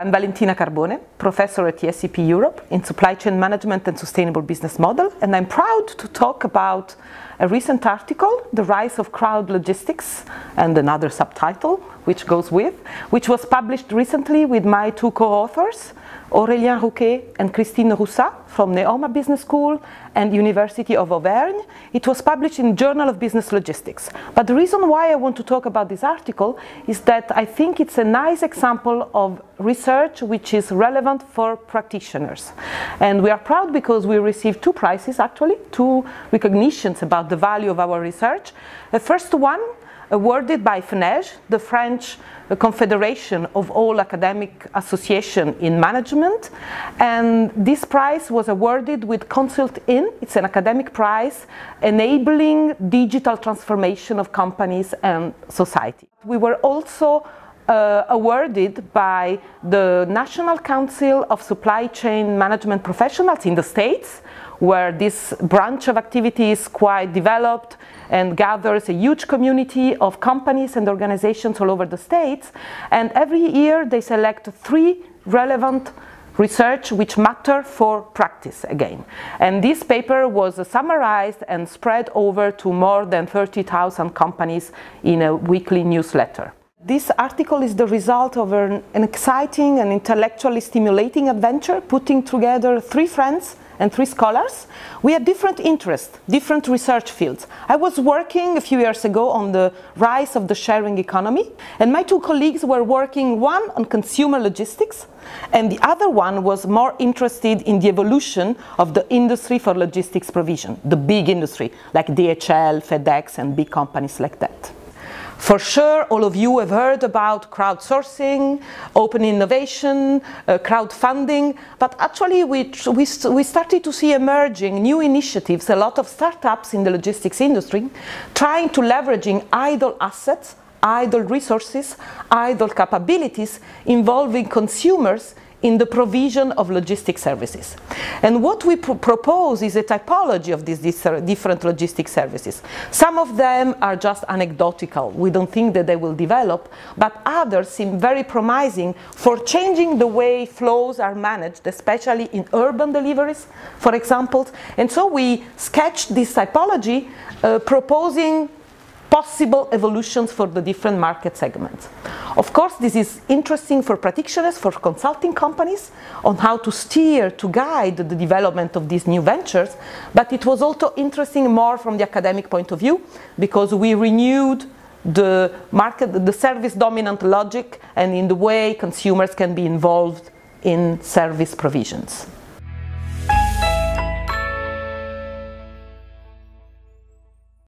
I'm Valentina Carbone, professor at SAP Europe in Supply Chain Management and Sustainable Business Model, and I'm proud to talk about a recent article, The Rise of Crowd Logistics, and another subtitle which goes with, which was published recently with my two co-authors, Aurélien Rouquet and Christine Roussat from Neoma Business School and University of Auvergne. It was published in Journal of Business Logistics. But the reason why I want to talk about this article is that I think it's a nice example of research which is relevant for practitioners. And we are proud because we received two prizes, actually, two recognitions about the value of our research. The first one, awarded by FNEJ, the French Confederation of all academic associations in management, and this prize was awarded with Consult In. It's an academic prize enabling digital transformation of companies and society. We were also awarded by the National Council of Supply Chain Management Professionals in the States, where this branch of activity is quite developed and gathers a huge community of companies and organizations all over the States. And every year they select 3 relevant research which matter for practice again. And this paper was summarized and spread over to more than 30,000 companies in a weekly newsletter. This article is the result of an exciting and intellectually stimulating adventure, putting together 3 friends and 3 scholars. We had different interests, different research fields. I was working a few years ago on the rise of the sharing economy, and my 2 colleagues were working, one on consumer logistics, and the other one was more interested in the evolution of the industry for logistics provision, the big industry, like DHL, FedEx, and big companies like that. For sure, all of you have heard about crowdsourcing, open innovation, crowdfunding, but actually we started to see emerging new initiatives, a lot of startups in the logistics industry, trying to leveraging idle assets, idle resources, idle capabilities involving consumers in the provision of logistics services. And what we propose is a typology of these different logistics services. Some of them are just anecdotal. We don't think that they will develop, but others seem very promising for changing the way flows are managed, especially in urban deliveries, for example. And so we sketched this typology, proposing possible evolutions for the different market segments. Of course, this is interesting for practitioners, for consulting companies, on how to steer, to guide the development of these new ventures, but it was also interesting more from the academic point of view, because we renewed the market, the service dominant logic, and in the way consumers can be involved in service provisions.